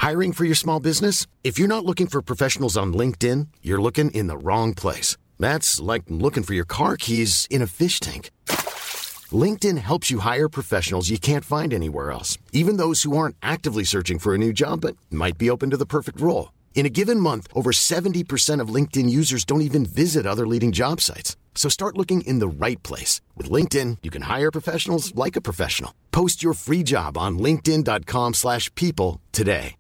Hiring for your small business? If you're not looking for professionals on LinkedIn, you're looking in the wrong place. That's like looking for your car keys in a fish tank. LinkedIn helps you hire professionals you can't find anywhere else, even those who aren't actively searching for a new job but might be open to the perfect role. In a given month, over 70% of LinkedIn users don't even visit other leading job sites. So start looking in the right place. With LinkedIn, you can hire professionals like a professional. Post your free job on linkedin.com/people today.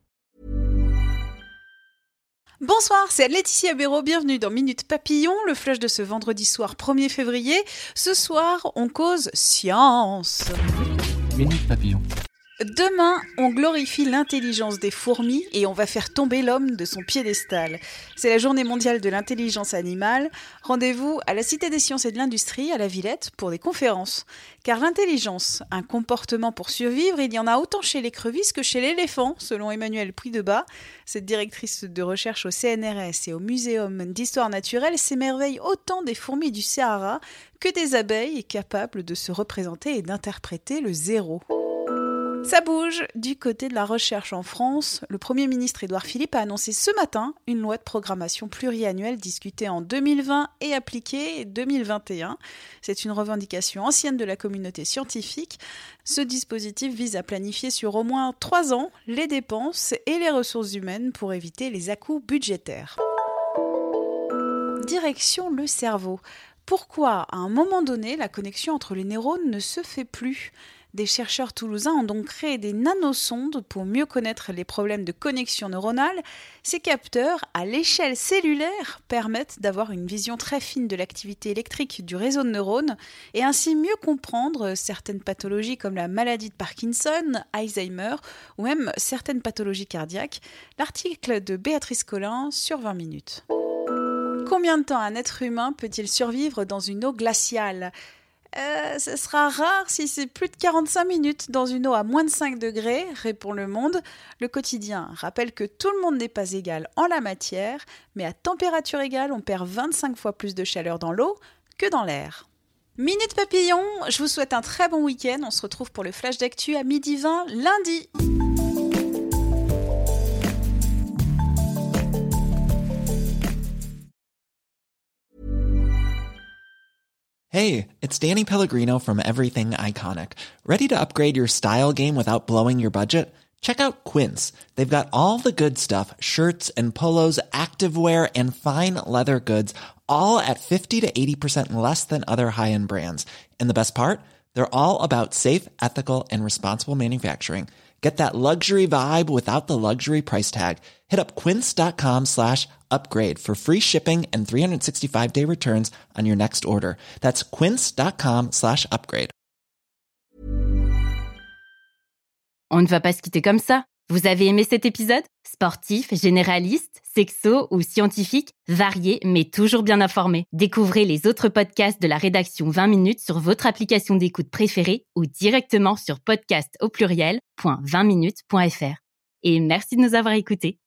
Bonsoir, c'est Laetitia Béraud, bienvenue dans Minute Papillon, le flash de ce vendredi soir 1er février. Ce soir, on cause science. Minute Papillon. Demain, on glorifie l'intelligence des fourmis et on va faire tomber l'homme de son piédestal. C'est la journée mondiale de l'intelligence animale. Rendez-vous à la Cité des Sciences et de l'Industrie, à la Villette, pour des conférences. Car l'intelligence, un comportement pour survivre, il y en a autant chez l'écrevisse que chez l'éléphant, selon Emmanuelle Puydebas. Cette directrice de recherche au CNRS et au Muséum d'Histoire naturelle s'émerveille autant des fourmis du Sahara que des abeilles capables de se représenter et d'interpréter le zéro. Ça bouge du côté de la recherche en France. Le Premier ministre Édouard Philippe a annoncé ce matin une loi de programmation pluriannuelle discutée en 2020 et appliquée 2021. C'est une revendication ancienne de la communauté scientifique. Ce dispositif vise à planifier sur au moins 3 ans les dépenses et les ressources humaines pour éviter les à-coups budgétaires. Direction le cerveau. Pourquoi, à un moment donné, la connexion entre les neurones ne se fait plus ? Des chercheurs toulousains ont donc créé des nanosondes pour mieux connaître les problèmes de connexion neuronale. Ces capteurs, à l'échelle cellulaire, permettent d'avoir une vision très fine de l'activité électrique du réseau de neurones et ainsi mieux comprendre certaines pathologies comme la maladie de Parkinson, Alzheimer ou même certaines pathologies cardiaques. L'article de Béatrice Collin sur 20 minutes. Combien de temps un être humain peut-il survivre dans une eau glaciale ? Ce sera rare si c'est plus de 45 minutes dans une eau à moins de 5 degrés, répond Le Monde. Le Quotidien rappelle que tout le monde n'est pas égal en la matière, mais à température égale, on perd 25 fois plus de chaleur dans l'eau que dans l'air. Minute Papillon, je vous souhaite un très bon week-end. On se retrouve pour le flash d'actu à 12h20 lundi. Hey, it's Danny Pellegrino from Everything Iconic. Ready to upgrade your style game without blowing your budget? Check out Quince. They've got all the good stuff, shirts and polos, activewear, and fine leather goods, all at 50 to 80% less than other high-end brands. And the best part? They're all about safe, ethical, and responsible manufacturing. Get that luxury vibe without the luxury price tag. Hit up quince.com/upgrade for free shipping and 365-day returns on your next order. That's quince.com/upgrade. On ne va pas se quitter comme ça. Vous avez aimé cet épisode ? Sportif, généraliste, sexo ou scientifique, varié mais toujours bien informé. Découvrez les autres podcasts de la rédaction 20 minutes sur votre application d'écoute préférée ou directement sur podcast@20minutes.fr. Et merci de nous avoir écoutés.